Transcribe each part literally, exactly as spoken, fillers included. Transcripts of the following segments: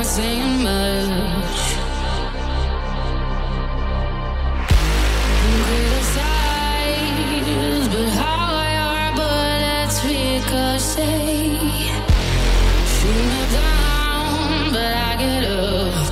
saying much. Criticize, but how your bullets ricochet. Shoot me down, but I get up.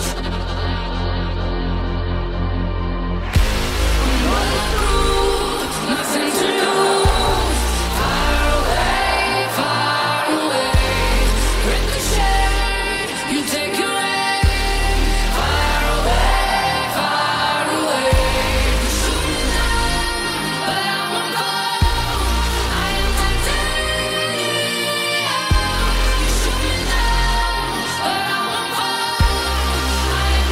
Nothing to lose. Far away, far away. Ricochet, you take your aim. Far away, far away. Shoot me down, but I won't fall. I am titanium. You shoot me down, but I won't fall. I am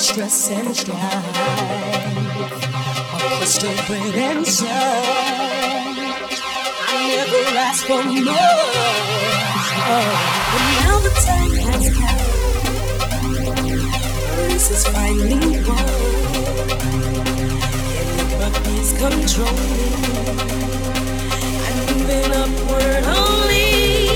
stress and strife, a crust of bread and sun. I never asked for more, oh, but now the time has come. This is finally wrong, and the puppy's controlling. I'm moving upward only.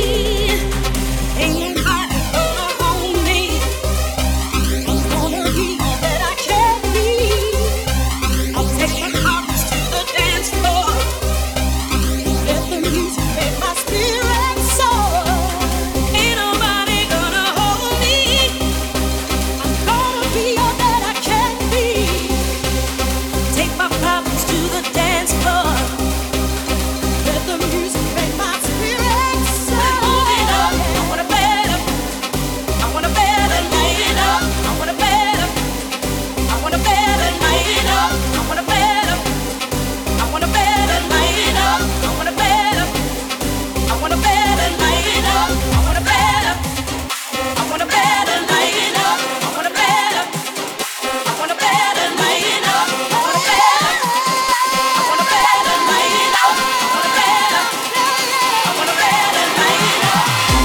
Ain't nobody gonna hold me. I'm gonna be all that I can be. I'll take my heart to the dance floor. Let the music make my spirit soar. Ain't nobody gonna hold me. I'm gonna be all that I can be. Take my problems to the dance floor. Let the music make my spirit soar. Moving up, I wanna better. I wanna better light it up. I wanna better. I wanna better light it up. I wanna better. I wanna better light it up. I wanna better. I wanna better light it up. I wanna better. I wanna better light it up. I wanna better. I wanna better light it up. I wanna better. I wanna better light it up. I wanna better. I wanna better light it up.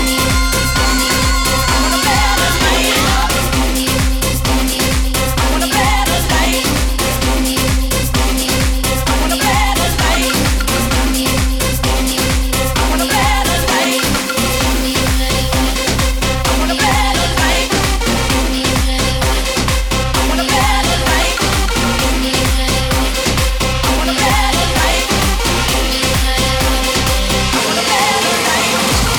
I wanna better light it up. I wanna better light. I wanna better light. I wanna better light. I wanna better light. I wanna better light. I wanna better light. I wanna better light.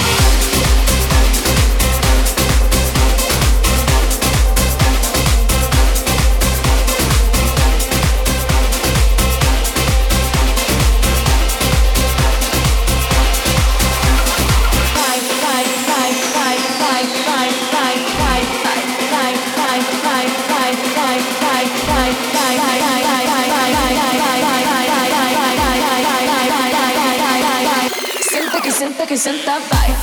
Senta que senta que senta, vai.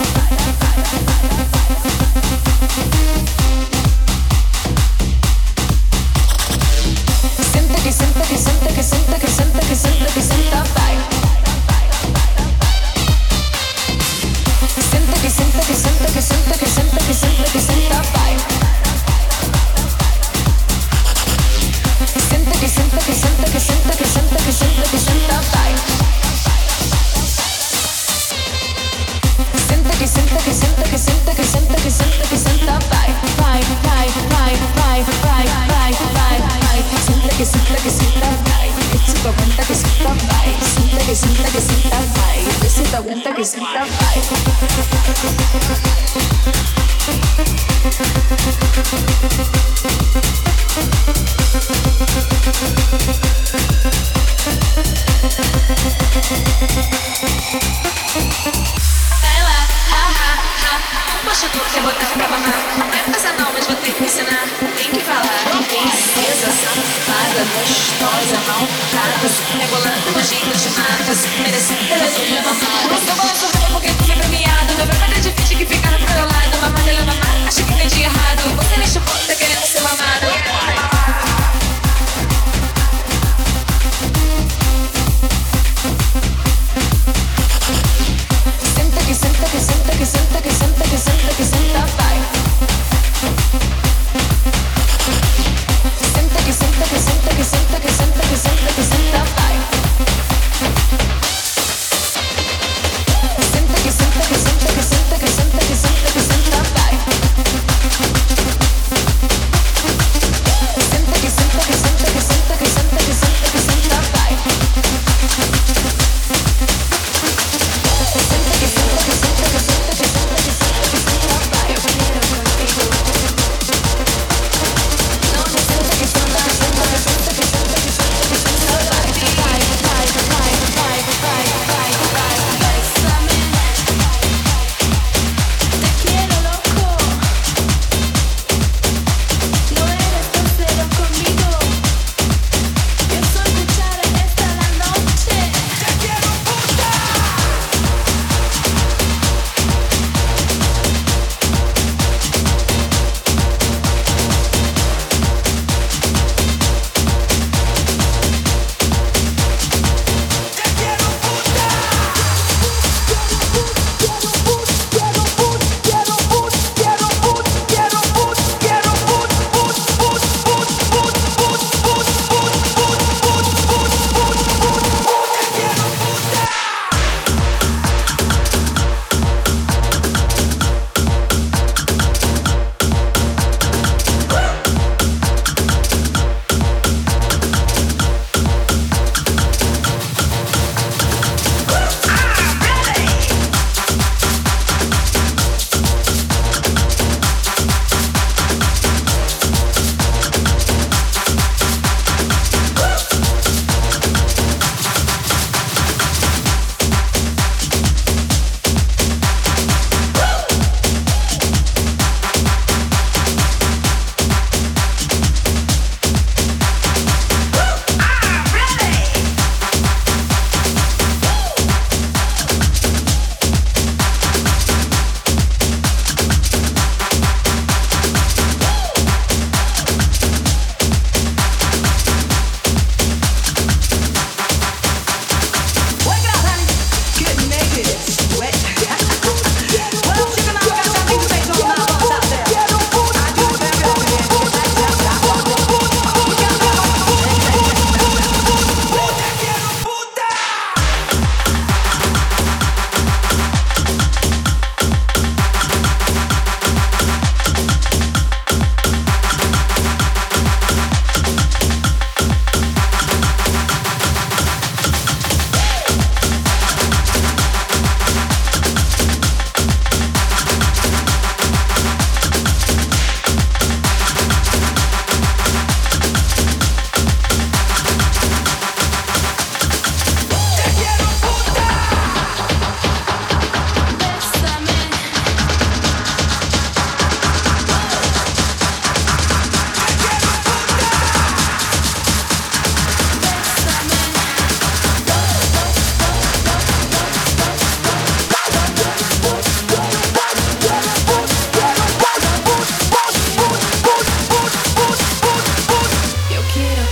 Senta que senta que senta que senta que senta que senta que senta, vai. Senta que senta que senta que senta que senta que senta que senta, vai. Senta que senta que senta que senta que senta que senta que senta, vai. Senta que senta que senta que senta que senta que senta que senta, vai. Vai, vai, vai, vai, vai, vai, vai, vai. Senta que senta que senta, vai. Esse tu aguenta que senta, vai. Senta que senta que senta, vai. Esse tu aguenta que senta, vai. Vai lá, ha, ha, ha. Poxa, tu quer botar pra mamar? Não é fazer não, mas vou ter que ensinar. Tem que falar. Princesa, safada, gostosa, malvada, rebolando nojentos de matas, merecendo resolver mamar. Eu gosto de porque tu foi premiado. Meu problema é difícil que fica pro meu lado. Mamar dele mamar, acho que entendi errado. Você me chupou, tá querendo ser mamado. Senta que senta que senta que senta que senta que senta que senta, vai. Senta que senta que senta que senta que senta que senta que senta, vai.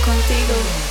contigo.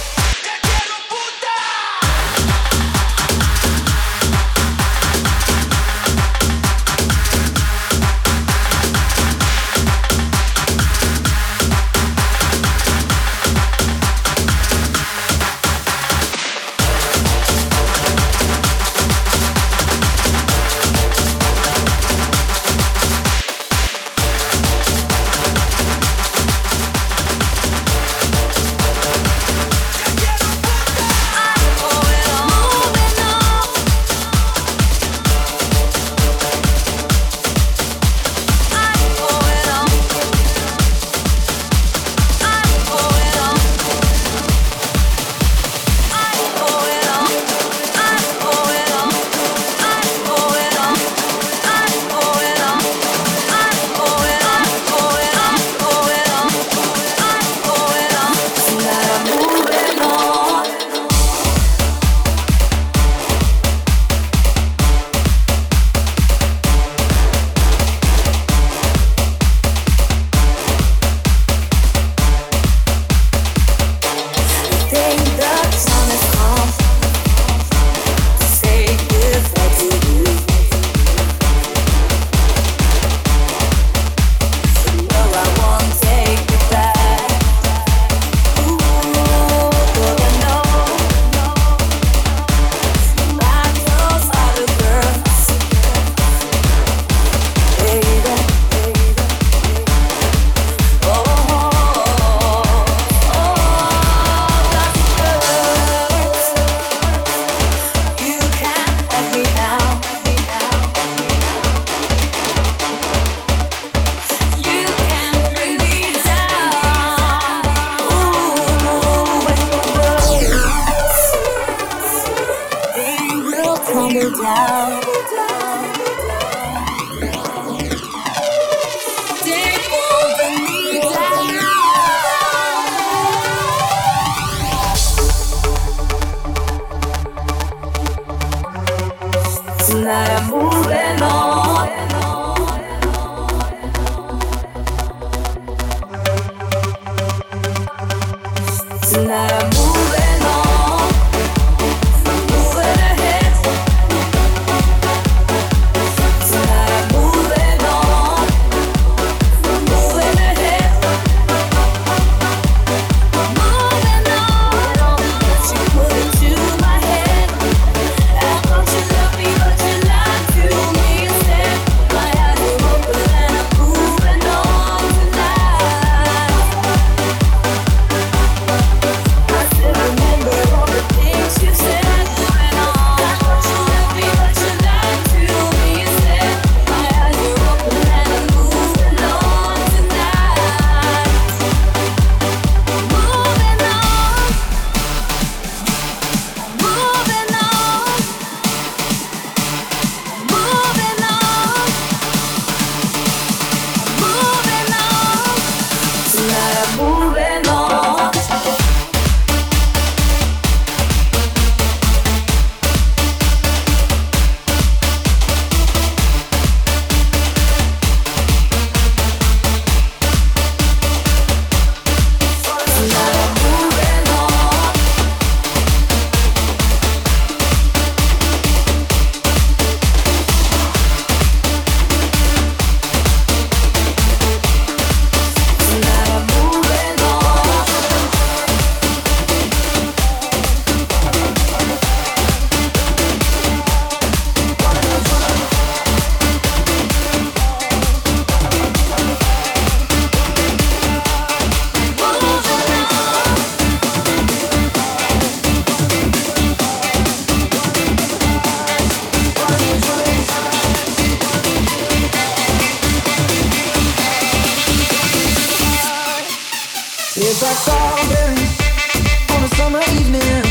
It's like strawberries on a summer evening,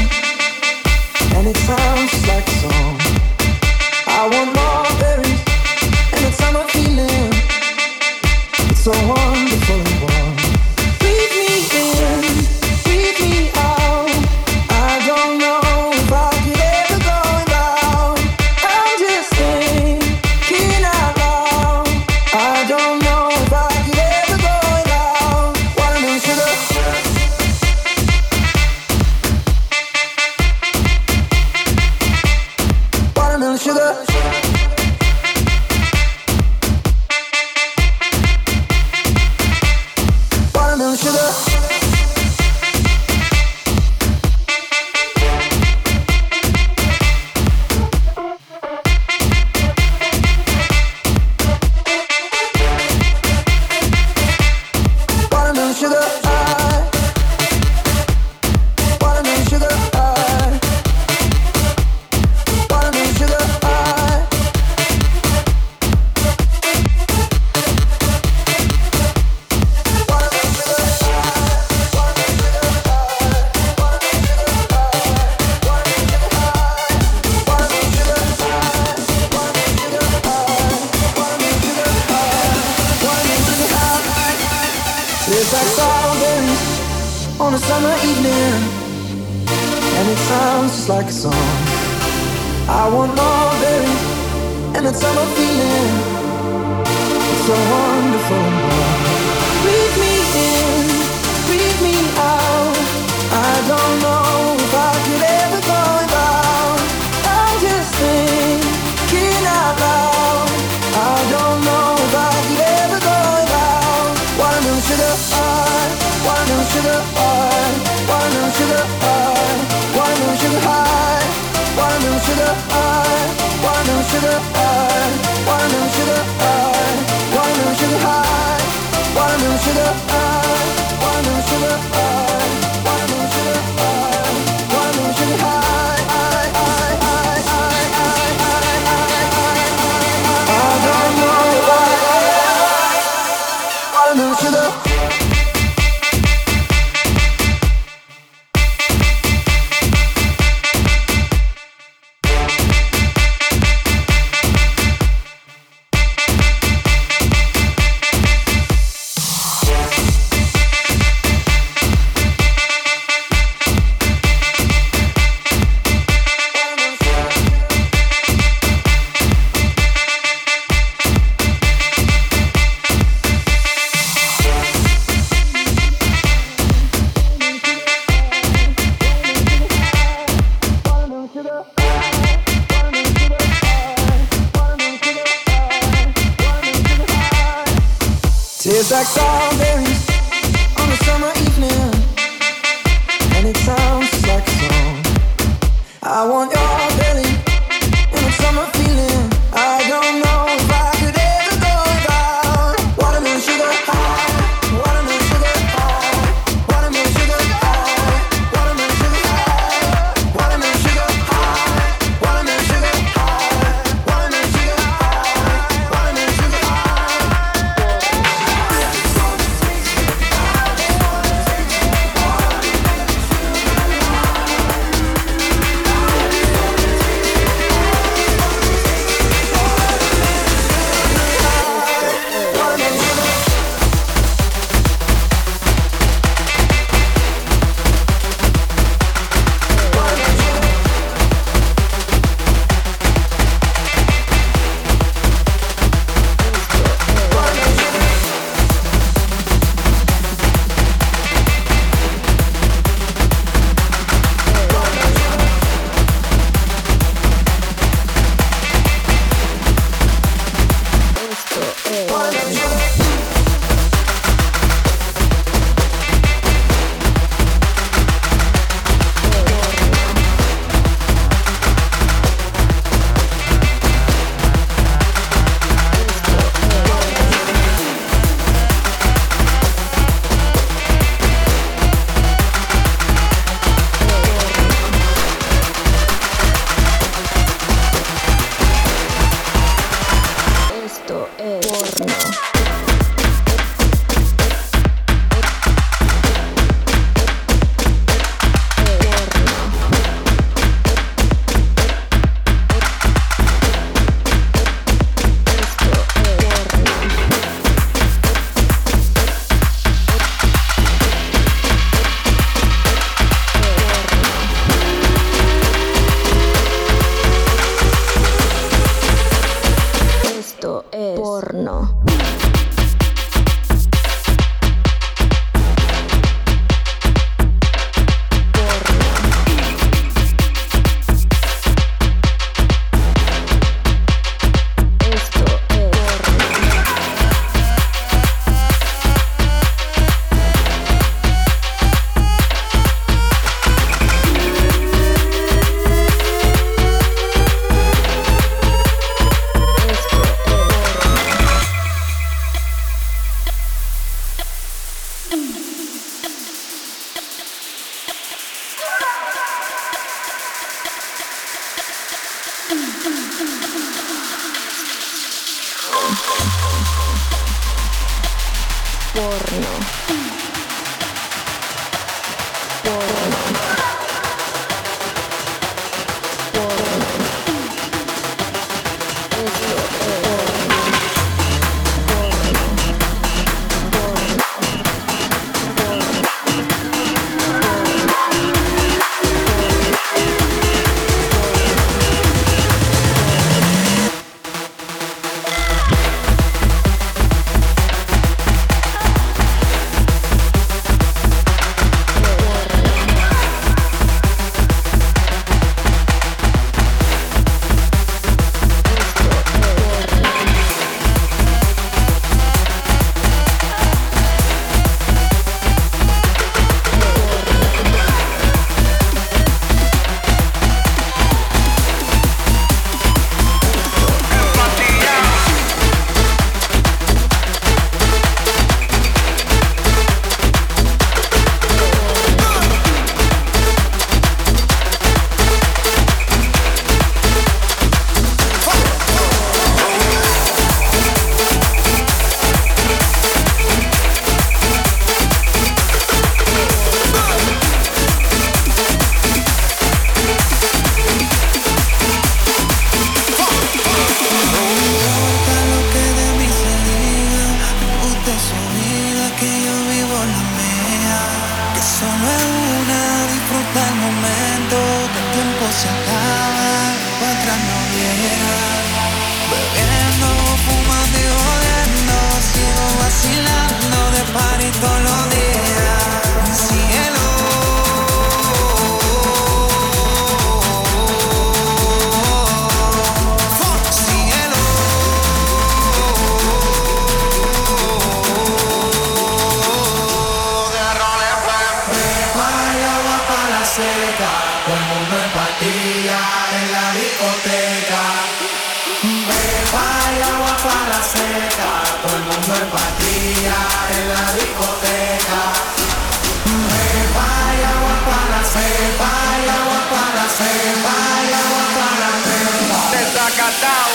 and it sounds just like a song. I want more berries and that summer feeling. It's so wonderful and warm. Breathe me in, breathe me out. I don't know if I could ever go without. I'm just thinking out loud. I don't know if I could ever go without watermelon sugar. evening, and it sounds just like a song. I want more berries and that summer feeling. It's so wonderful and warm. Breathe me in, breathe me out. I don't know if I could ever go without. I'm just thinking out loud. I don't know if I could ever go without. Watermelon sugar high, watermelon sugar high, watermelon sugar high, watermelon sugar high, watermelon sugar high, watermelon sugar high, watermelon sugar high, watermelon sugar high, watermelon sugar high, watermelon sugar high, watermelon sugar high, watermelon sugar high, high, high, high, high, high, high, high. I don't know why. Watermelon sugar. Tastes like strawberries on a summer evening, and it sounds just like a song. I want your belly and a summer feeling. I don't know if I could ever go without. Watermelon sugar high, watermelon sugar high, watermelon sugar high, watermelon sugar high, watermelon sugar high, watermelon sugar high, watermelon sugar high, watermelon sugar high. seca, todo el mundo en patilla en la discoteca. Beba y agua para la seca, todo el mundo en patilla en la discoteca. Beba y agua para la seca, y agua para la seca, y agua para la seca. Desacatao.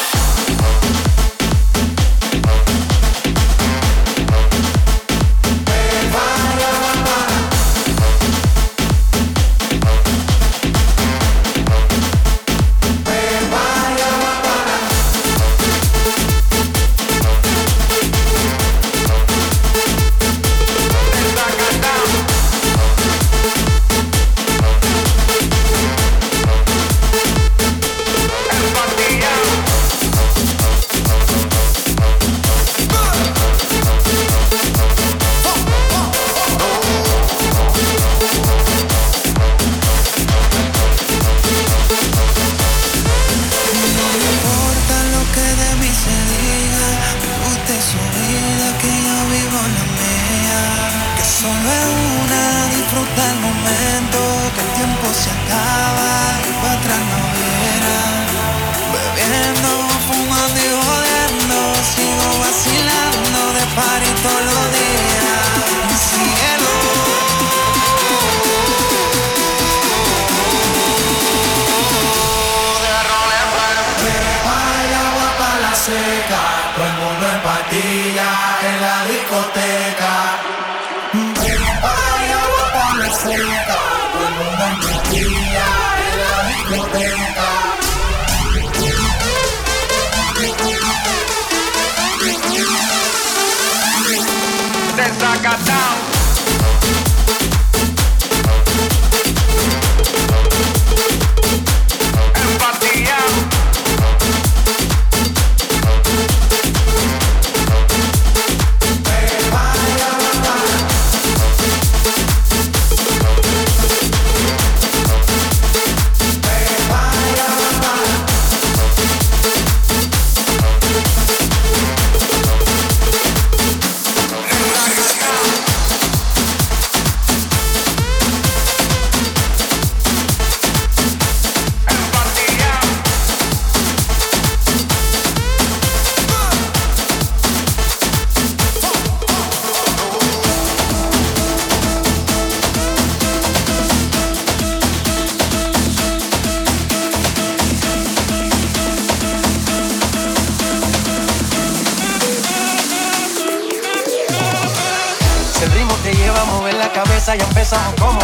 Ya empezamos como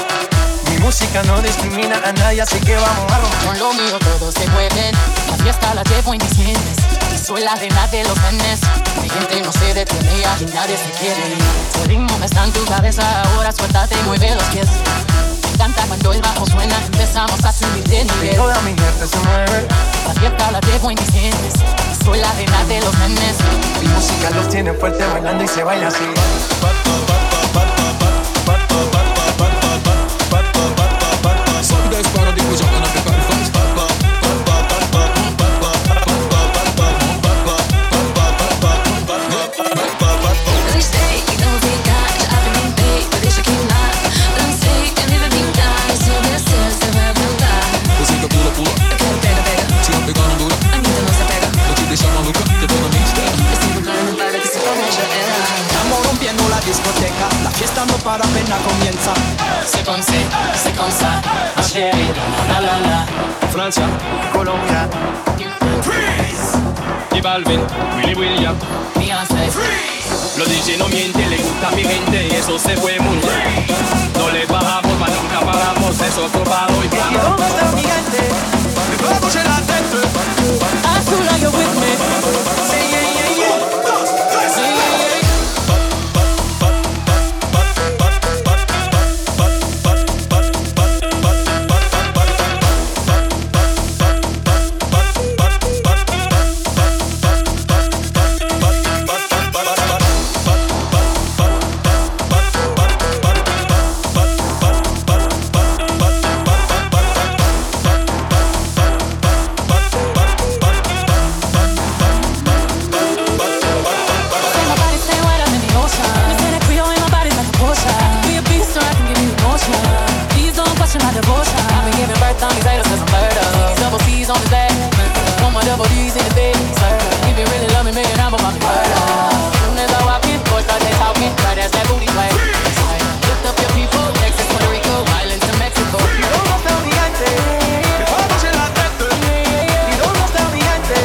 es. Mi música no discrimina a nadie, así que vamos a romper. Con lo mío todos se mueven, la fiesta la llevo en mis dientes. Y soy la reina de los nenes. Mi gente no se detiene y nadie se quiere ir. Tu ritmo está en tu cabeza, ahora suéltate y mueve los pies. Me encanta cuando el bajo suena, empezamos a subir de nivel. Toda mi gente se mueve. La fiesta la llevo en mis dientes. Y soy la reina de los nenes. Mi música los tiene fuerte bailando y se baila así. La fiesta no para, apenas comienza. C'est comme c'est, c'est comme ça, ma chérie, la la la. Francia, Colombia, Freeze. Y Balvin, Willy William, Beyoncé, los D J no mienten, le gusta a mi gente y eso se fue muy bien. No le bajamos, mas nunca paramos, es otro palo y plano. ¿dónde está mi gente? Me puedo coger la tête. Azul, are you with me? Say yeah, yeah, yeah. Yeah, yeah, yeah. Every time he say this, 'cause I'm murder. Double C's on his back. Put my double D's in his face. If you really love me, make it happen, my murder. Soon as I walk in, boys start they talking. Right as that booty play. Lift up your people, Texas, Puerto Rico, islands to Mexico. ¿Y dónde está mi gente? Que toda noche la tete. ¿Y dónde está mi gente?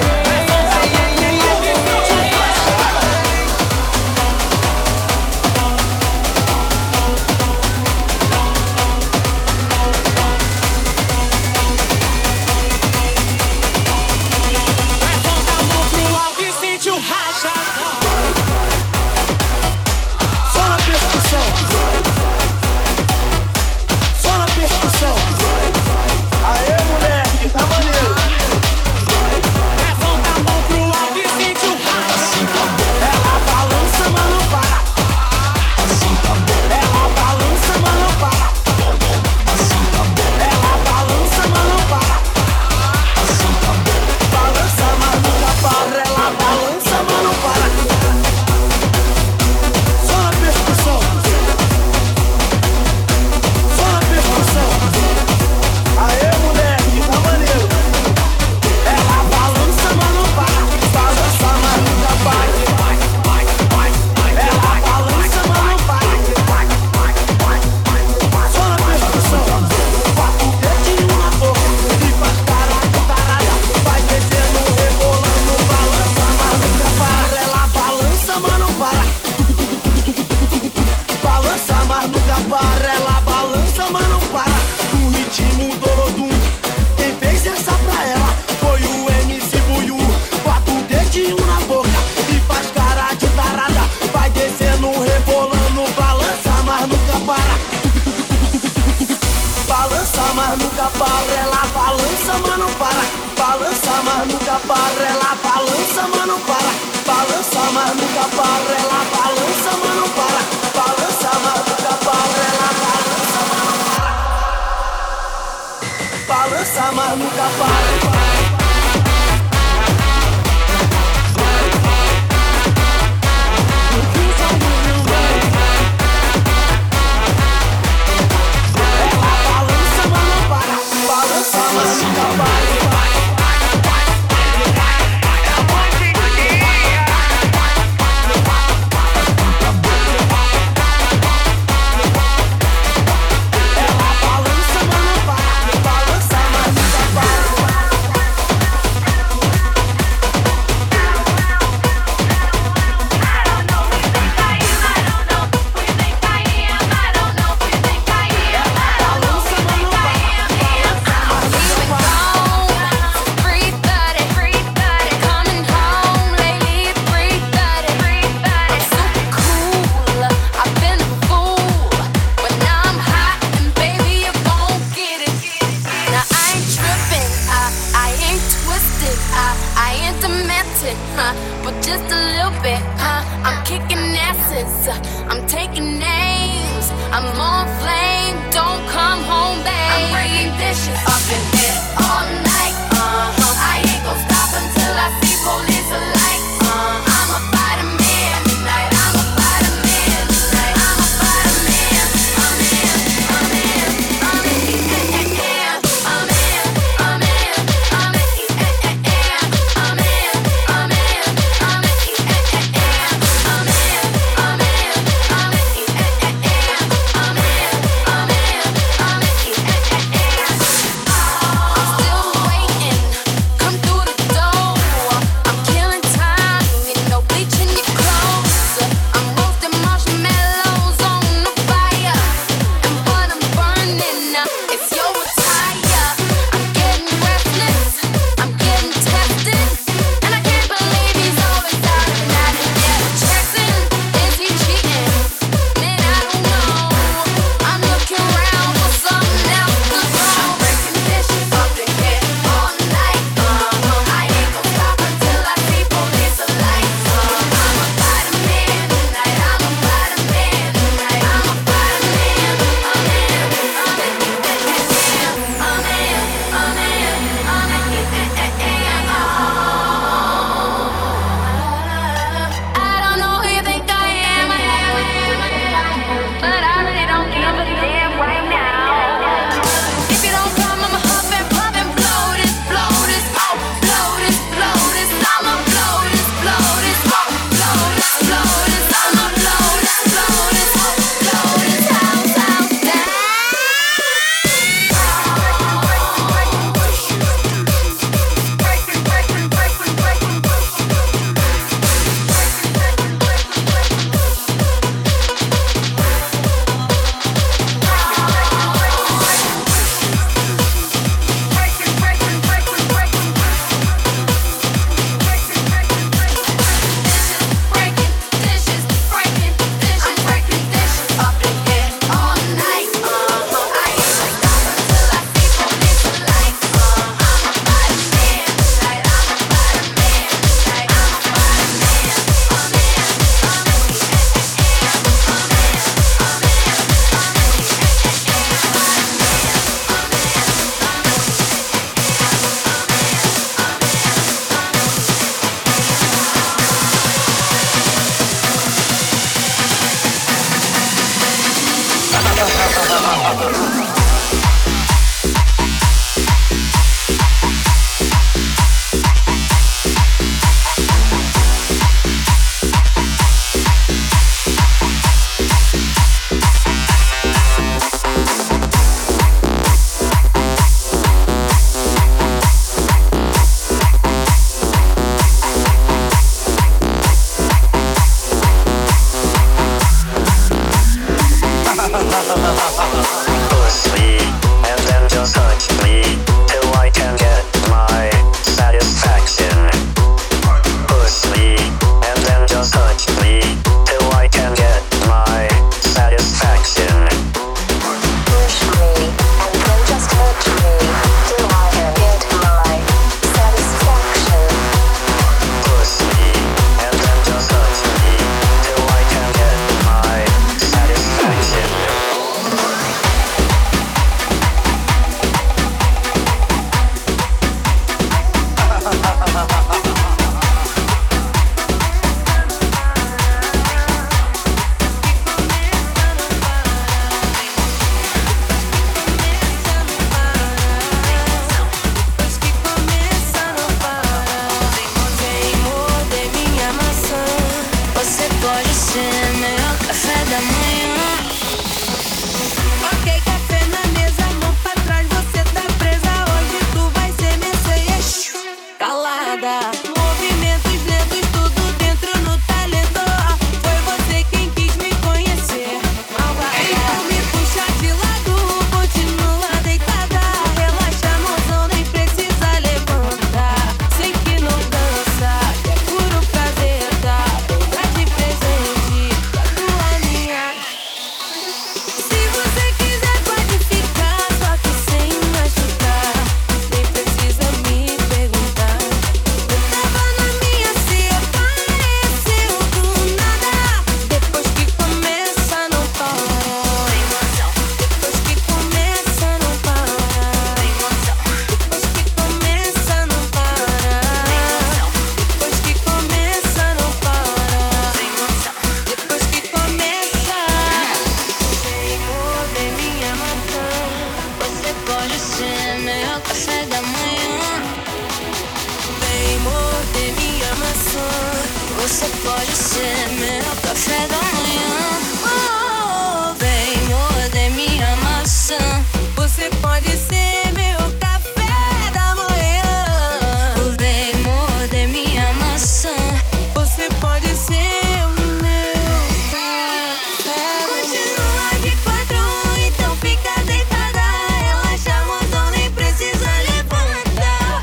Você pode ser meu café da manhã. Oh, vem morder minha maçã. Você pode ser meu café da manhã. Vem morder minha maçã. Você pode ser o meu café. Continua de quatro, então fica deitada. Relaxa, mozão, nem precisa levantar.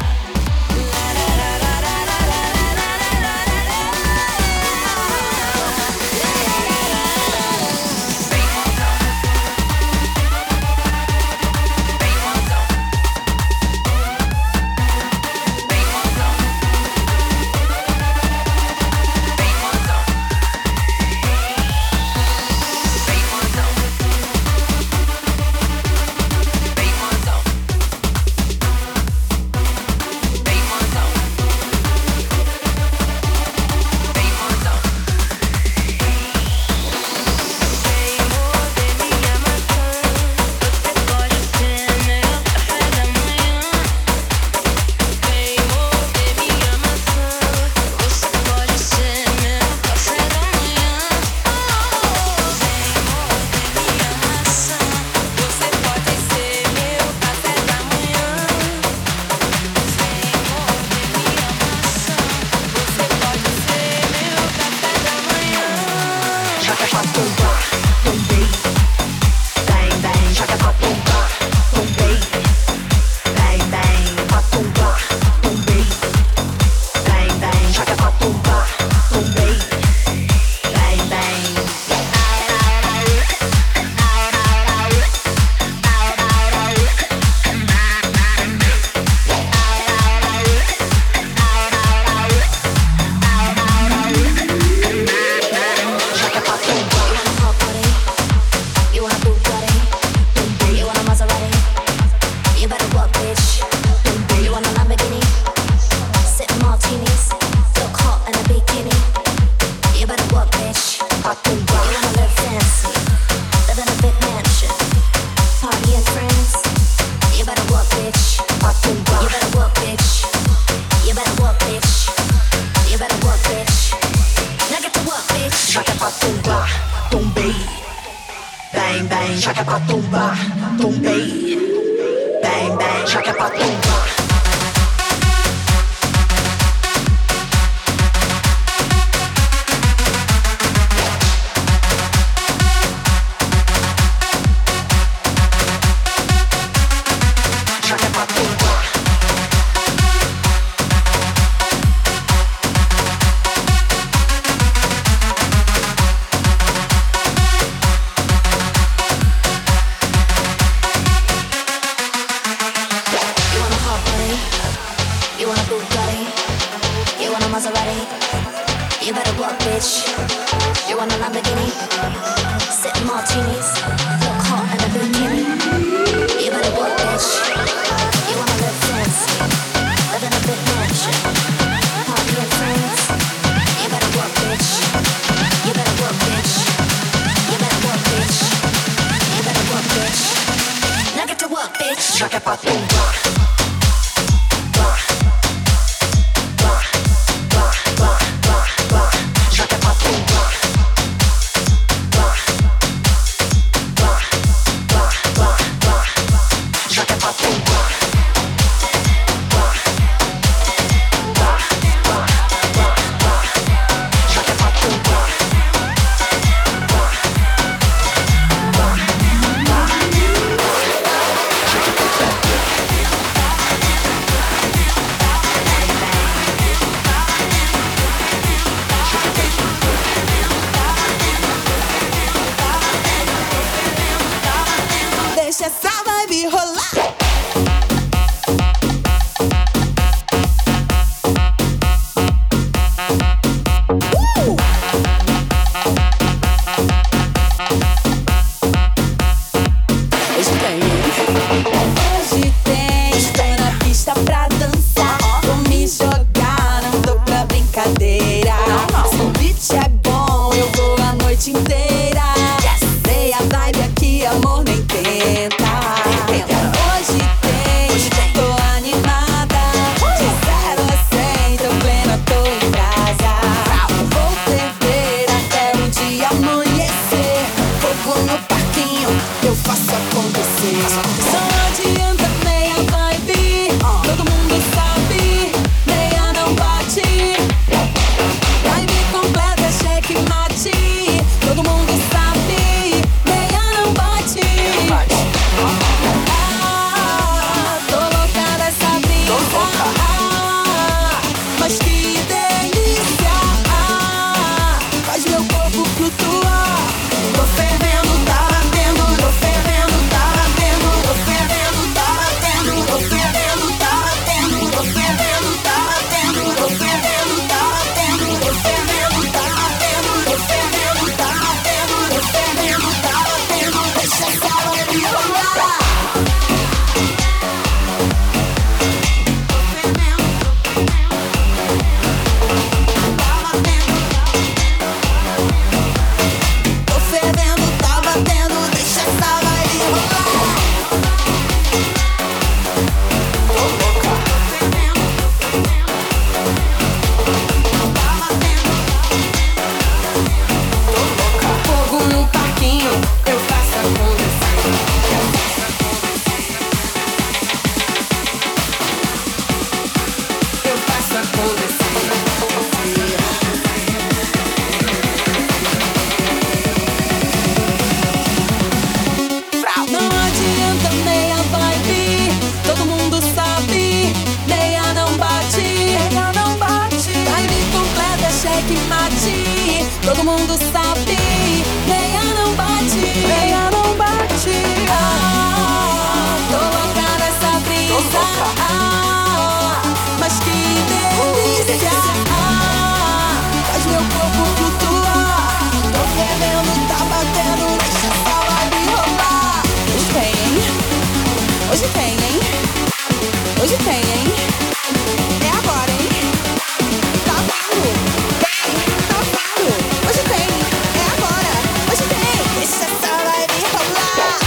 Hoje tem, hein? Hoje tem, hein? É agora, hein? Tá vindo. Tá vindo. Hoje tem. É agora. Hoje tem. Deixa essa live rolar.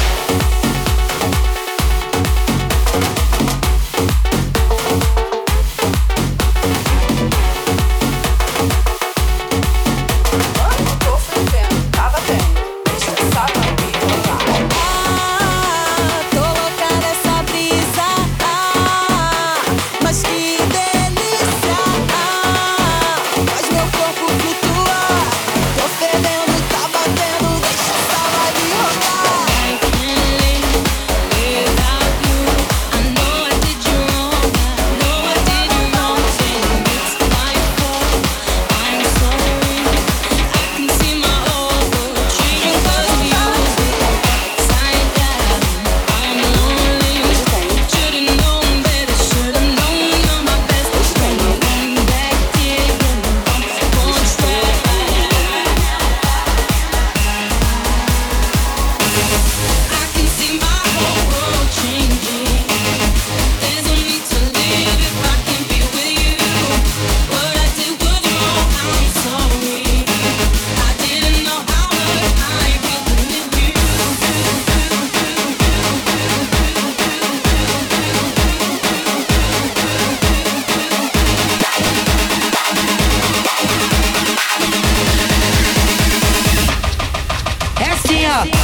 Quando tô fervendo, tava bem. Deixa essa live rolar. Ah, tô louca dessa brisa. Ah, mas que delícia. Ah, faz meu corpo flutuar. Tô fervendo, tá batendo. Deixa essa live rolar. I can't live without you. I know I did you wrong. I know I did you wrong. And it's my fault. I'm sorry. I can see my whole world changing 'cause of you. Upside down, I'm lonely. Should've known better. Should've known you're my best friend. Going back here, won't try. I can see my whole world changing. There's no need to live if I can't be with you. What I did was wrong. I'm sorry. I didn't know how much I really need you. É assim, ó.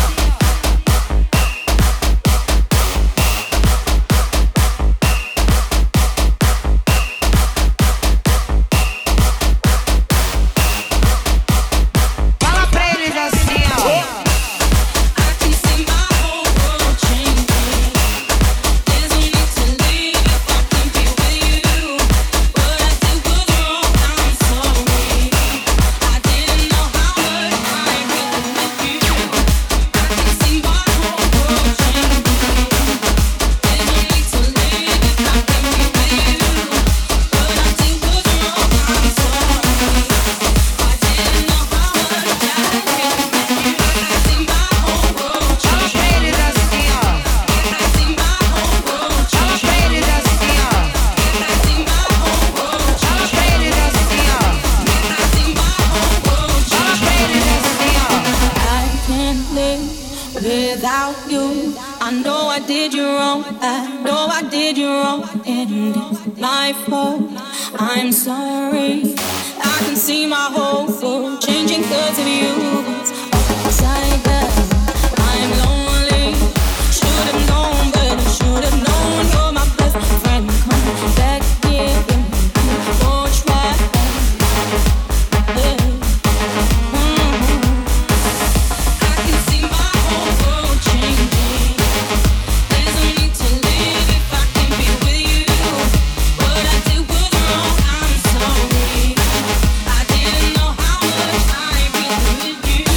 Fala pra eles assim, ó. I can see my whole world changing. There's no need to leave if I can't be with you. What I did was wrong. I'm sorry. I didn't know how much I really need you. I can see my whole world changing. There's no need to leave if I can't be with you. What I did was wrong. I'm sorry. I didn't know how much I really need you. I see my whole world Fala pra eles assim, ó. I see my whole world Fala pra eles assim, ó. I see my whole world Fala pra eles assim, ó. I see my whole world Fala pra eles assim, ó. I can't live without you. I know I did you wrong. I know I did you wrong. And it's my fault. I'm sorry. I can see my whole world changing 'cause of you. Upside down, I'm lonely. Should have known better. Should have known you're my best friend. Come back here, won't try. Yeah. I can see my whole world changing. There's no need to live if I can't be with you. What I did was wrong. I'm sorry. I didn't know how much I really need you.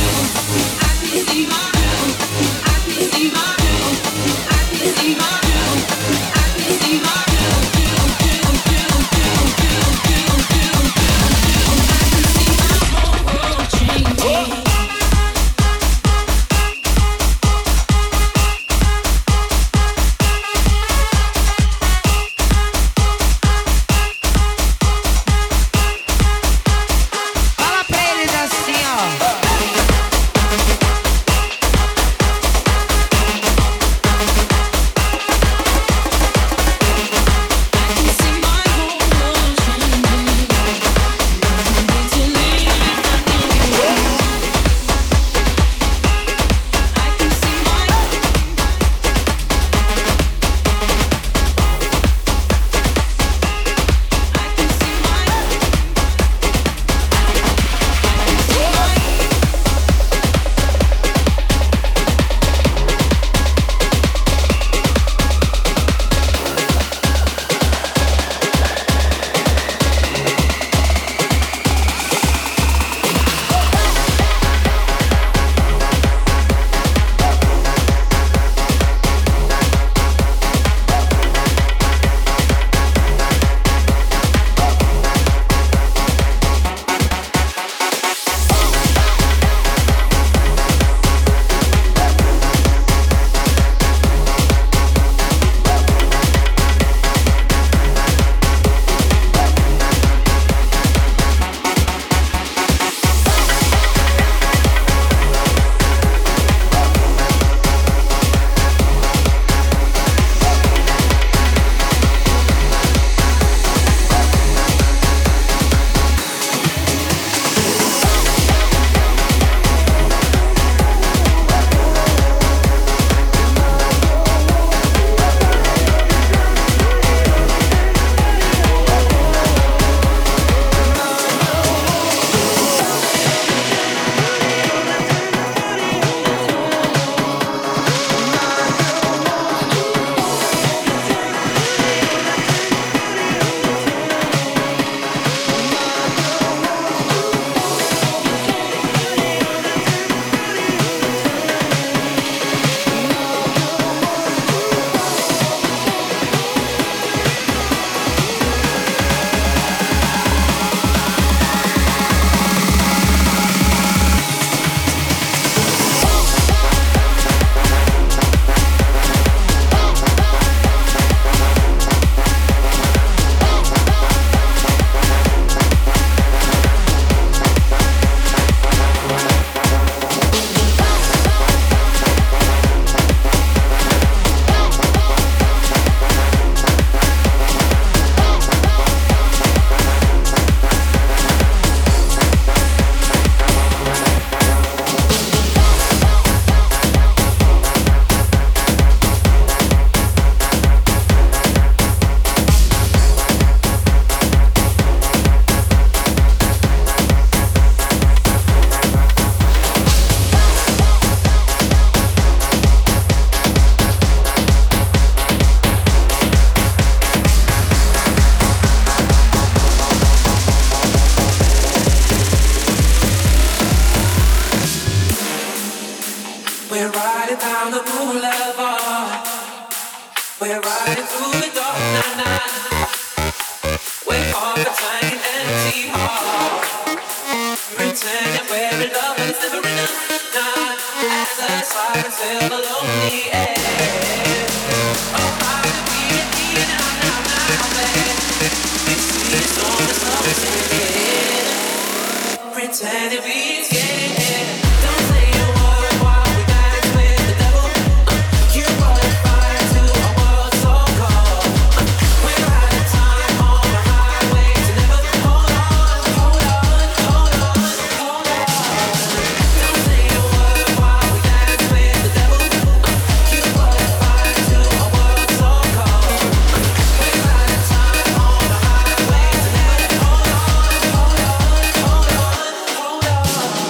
We're riding through the dark night. We're caught between an empty heart. Pretending we're in love, but it's never enough. Not as the silence fill the lonely air. Oh, how to be a key now, now, now, babe. We see it's on the sunset. Pretending we scared. Don't say a word while we dance with the devil. You brought a fire to a world so cold. We're out of time on the highway to never. Hold on, hold on, hold on, hold on. Don't say a word while we dance with the devil. You brought a fire to a world so cold. We're out of time on the highway to never. Hold on, hold on, hold on, hold on.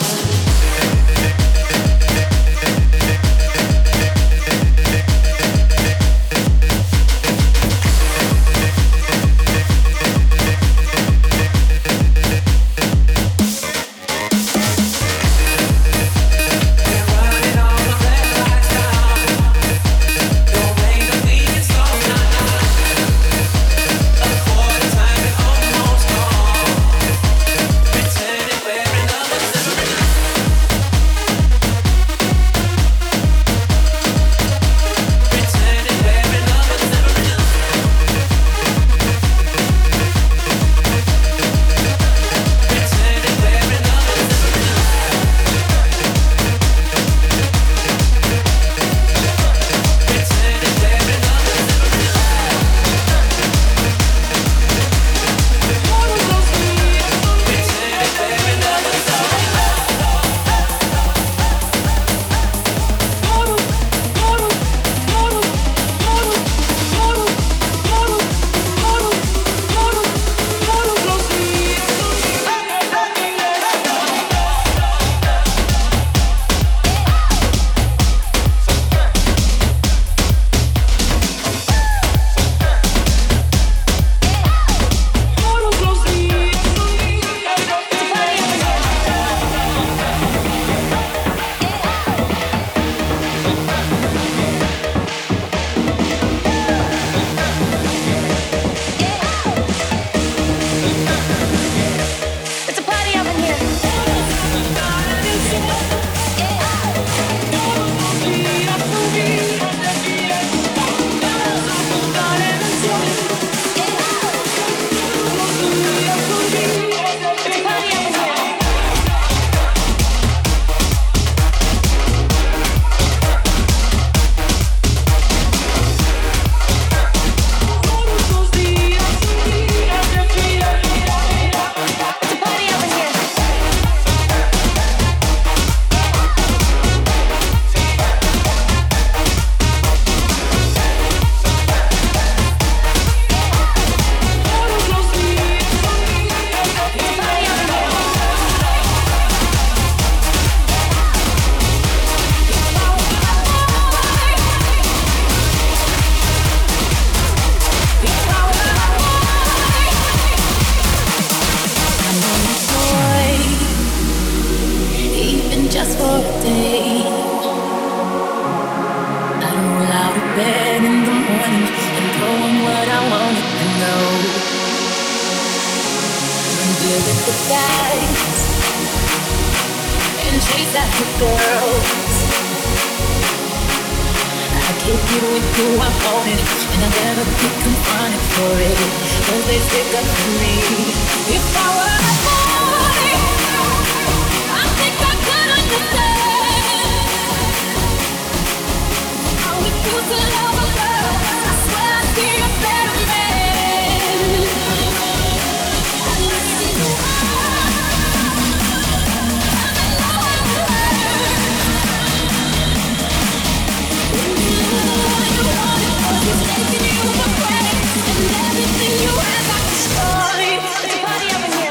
It's a party up in here. Even just for a day, I'd roll out of bed in the morning and go on what I wanted to know. And deal with the guys and chase after girls. I keep you with who I wanted, and I never get confronted for it, 'cause they stick up to me. If I were a boy, I think I could understand how it feels to love a girl. I swear I'd be a better man. I listen to her. I know how to hurt. When you know what you wanted, 'cause it's taking you for granted, and everything you have got destroyed. It's a party up in here.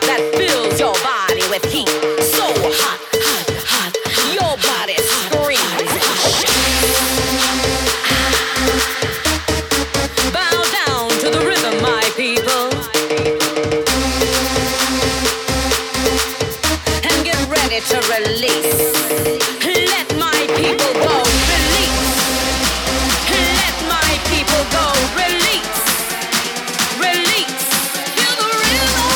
that fills your body with heat. So hot, hot, hot, your body screams. Bow down to the rhythm, my people, and get ready to release. Let my people go. Release. Let my people go. Release. Release. Feel the rhythm.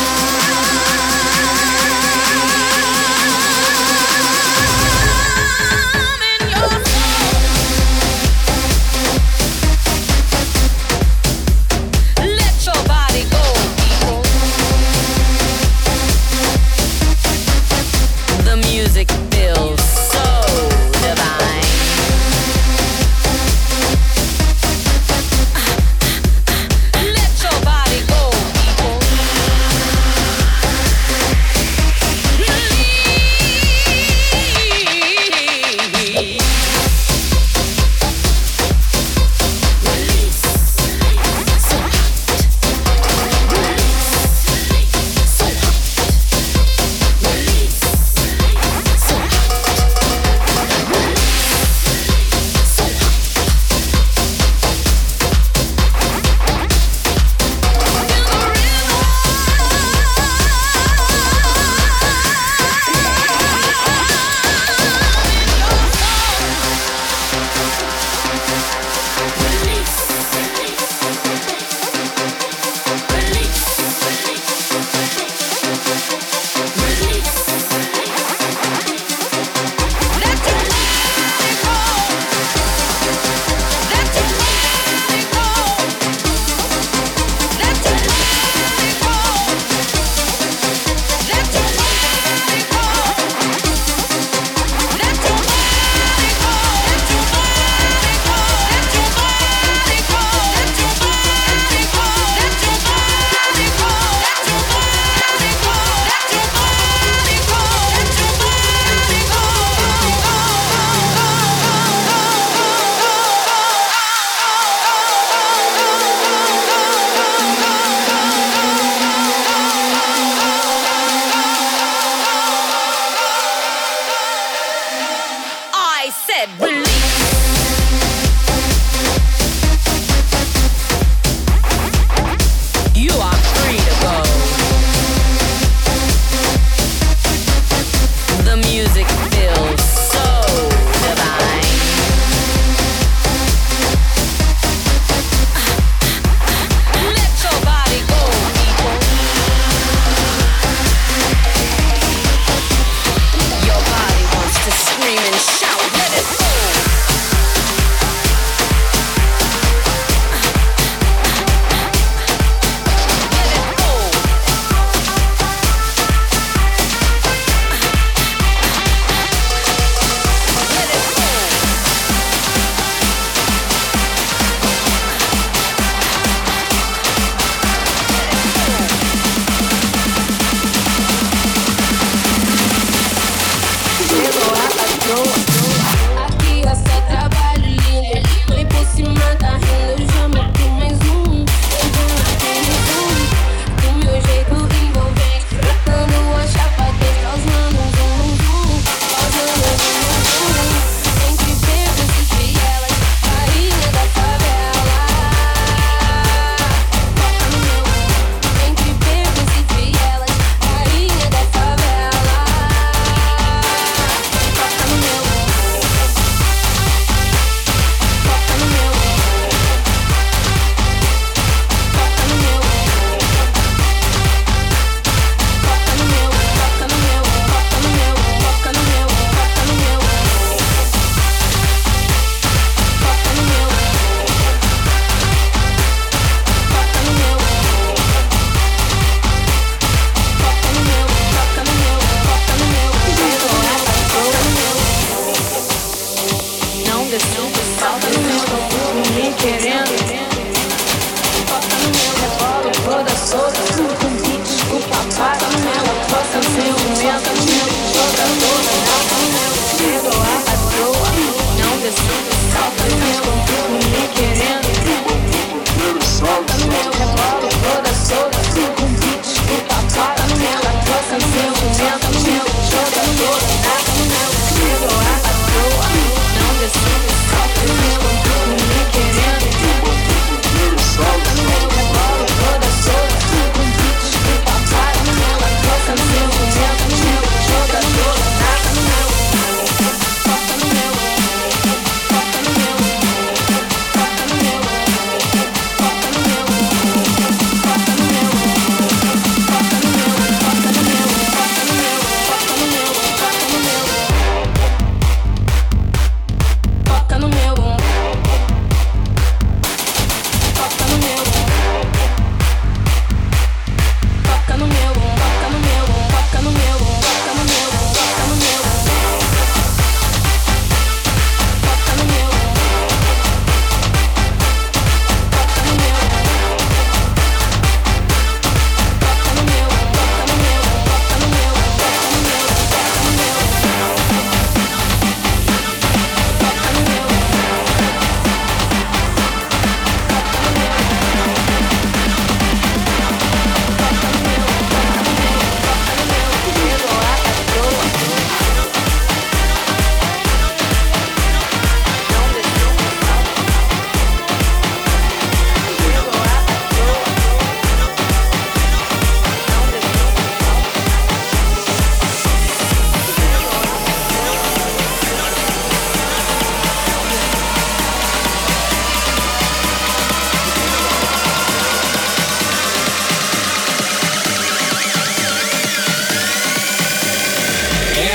In your soul. Let your body go, people. The music builds.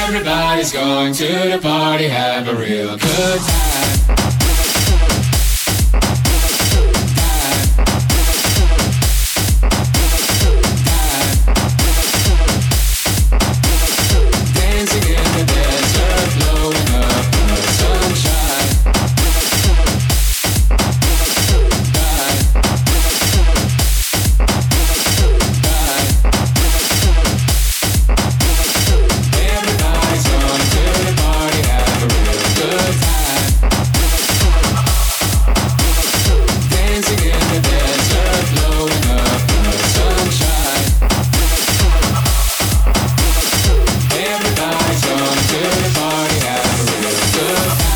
Everybody's going to the party, have a real good time. Dancing in the desert, blowing up the sunshine. Everybody's going to the party, have a real good time. Dancing in the desert, blowing up the sunshine. Everybody's going to the party, have a real good time.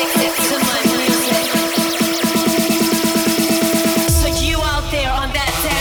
That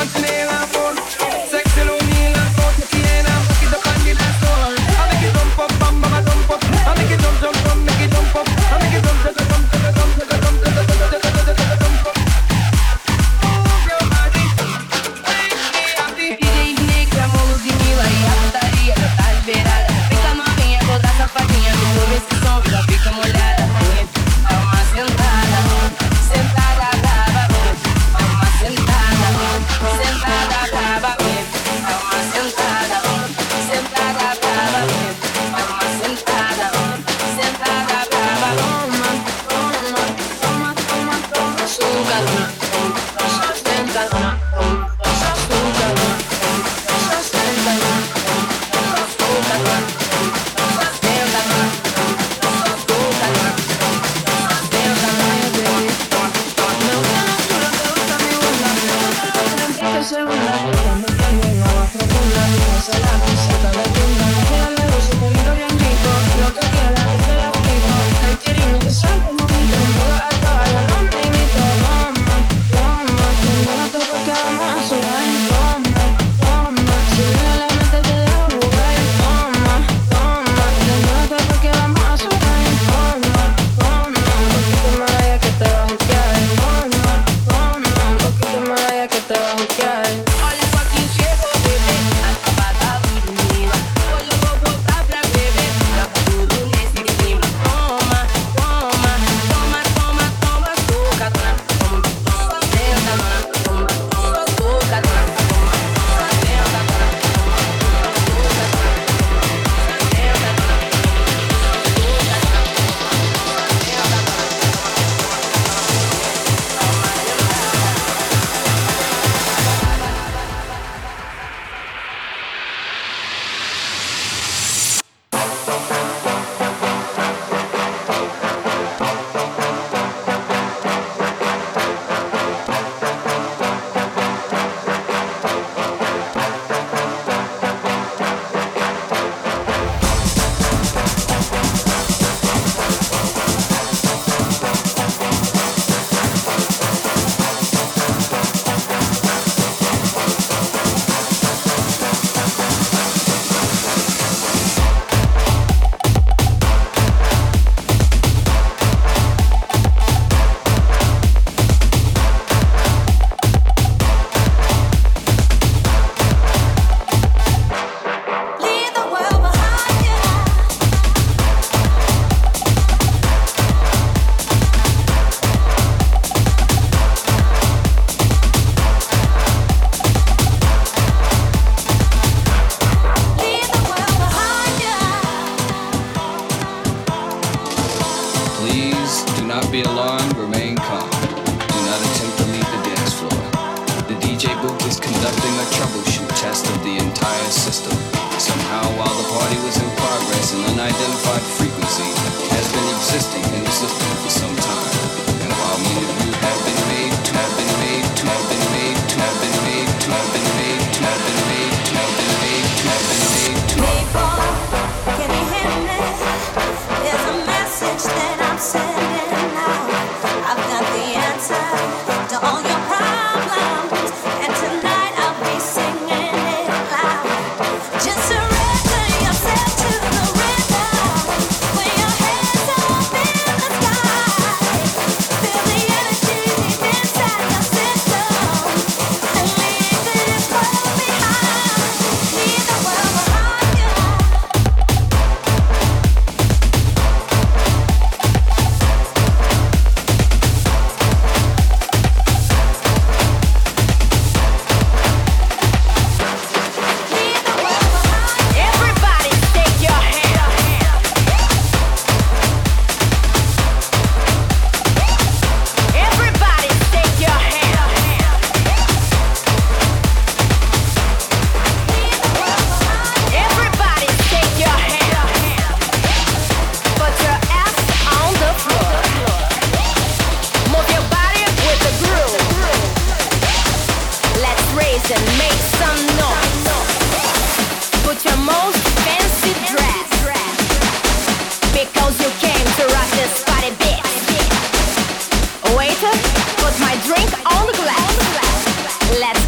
Get crazy.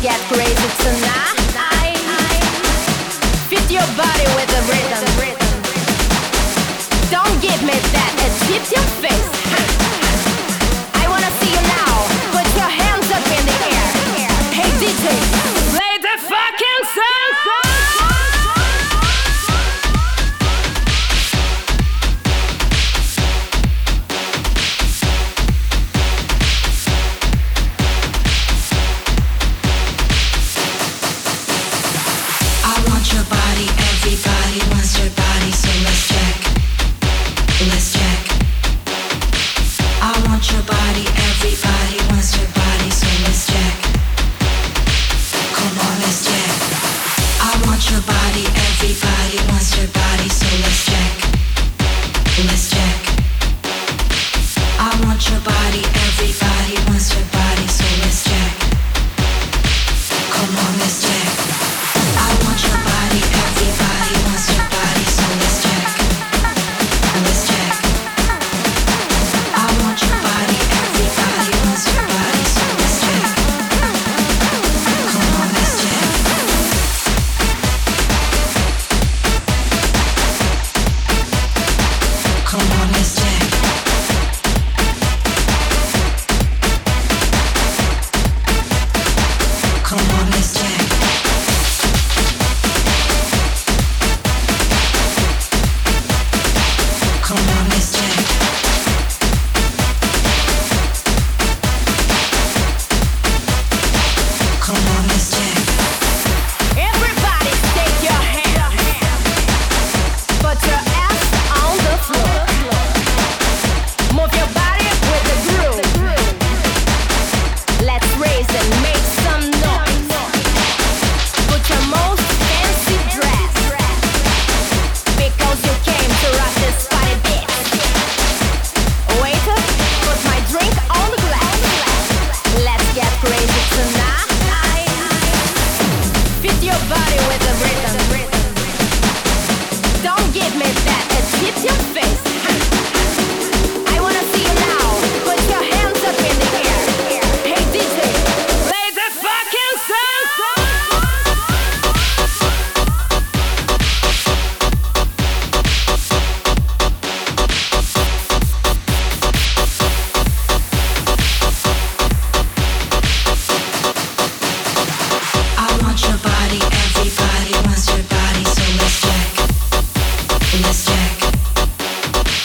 crazy tonight. Fit your body with the rhythm. Don't give me that, it tips your face. I wanna see you now. Put your hands up in the air. Hey D J, play the fucking song. Everybody wants your body, so let's check. Let's check. I want your body, everybody wants your body, so let's check. Come on, let's check. I want your body, everybody wants your body, so let's check. Let's check. I want your body, everybody wants your body, so let's check. Come on, let's check. I want your body, everybody wants your body, so let's check. Let's check. I want your body, everybody wants your body, so let's check. Come on, let's check. Come on, let's check. Come on, let's check. Come on, let's check. Come on, let's check. Everybody take your hand. Put your ass on the floor. Move your body with the groove. Let's raise and make some noise. Put your most fancy dress, because you came to rock this party beat. Waiter, put my drink on the glass. Let's get crazy tonight. Fit your body with the rhythm. Don't give me that, it hits your face. I wanna see you now. Put your hands up in the air. Hey D J, play the fucking song. I want your body, everybody wants your body, so let's check. Let's check.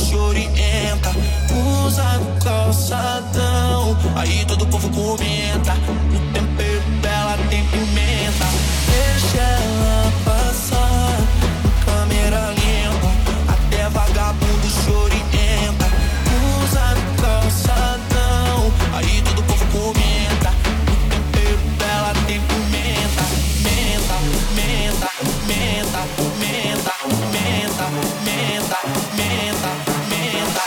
te orienta. Usa no calçadão, aí todo o povo comenta. O tempero dela tem pimenta. Deixa ela passar, câmera lenta, até vagabundo te orienta. Usa no calçadão, aí todo o povo comenta. O tempero dela tem pimenta. Menta, menta, menta, menta, menta, menta, menta, menta.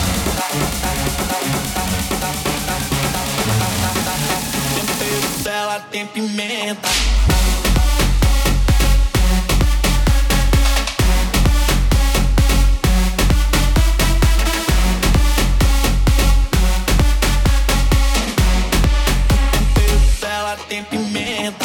Tempero dela tem pimenta. Tem pimenta.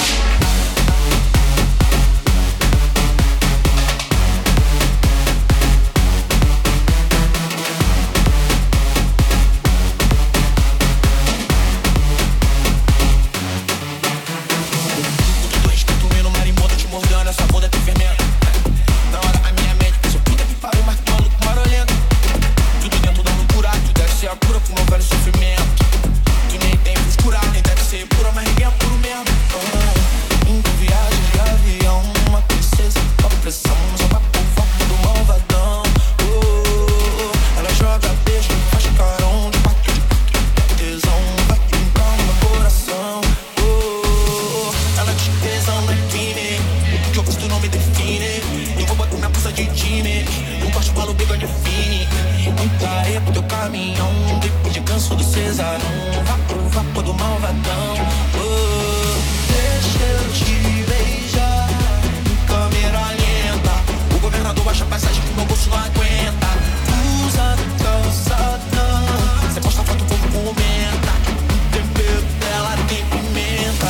Tudo doente, comendo marimbondo, te mordendo, essa bunda tem fermento. Na hora a minha mente pensou, puta que pariu, mas que maluco marolento. Tudo dentro da loucura, tu deve ser a cura pro meu velho sofrimento. Tu nem tem frescura, nem deve ser pura, mas ninguém é puro mesmo. Oh, indo viagem de avião, uma princesa, uma pressão, só pra povo do malvadão. Oh, ela joga beijo, faz carão, de quatro, de quatro, de tesão, vai brincar no meu coração. Oh, ela de tesão não é crime, o que eu gosto não me define. Eu vou botar minha pulsa de time, eu gosto de balo, bigode fine. Muita areia pro teu caminhão, depois de canso do cesarão. Vá pro vapor do malvadão. Oh, deixa eu te beijar em câmera lenta. O governador baixa a passagem que meu bolso não aguenta. Usa no calçadão, cê posta foto, o povo comenta. O tempero dela tem pimenta.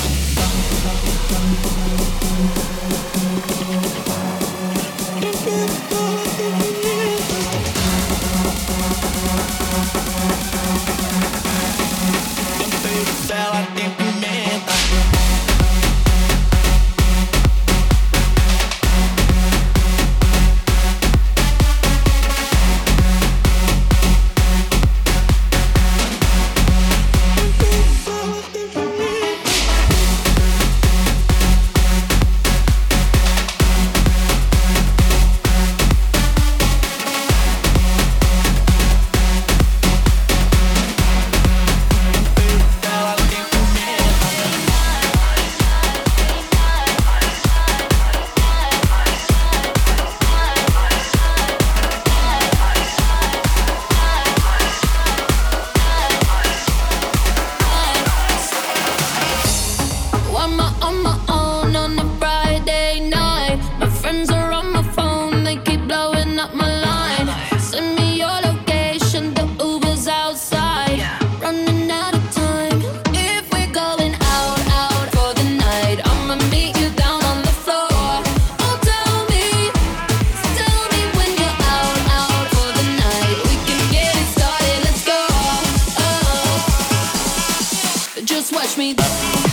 Tempero dela tem pimenta. I'm on my own on a Friday night. My friends are on my phone, they keep blowing up my line. Send me your location, the Uber's outside. Running out of time. If we're going out, out for the night, I'ma meet you down on the floor. Oh, tell me, tell me when you're out, out for the night. We can get it started, let's go. Oh, just watch me.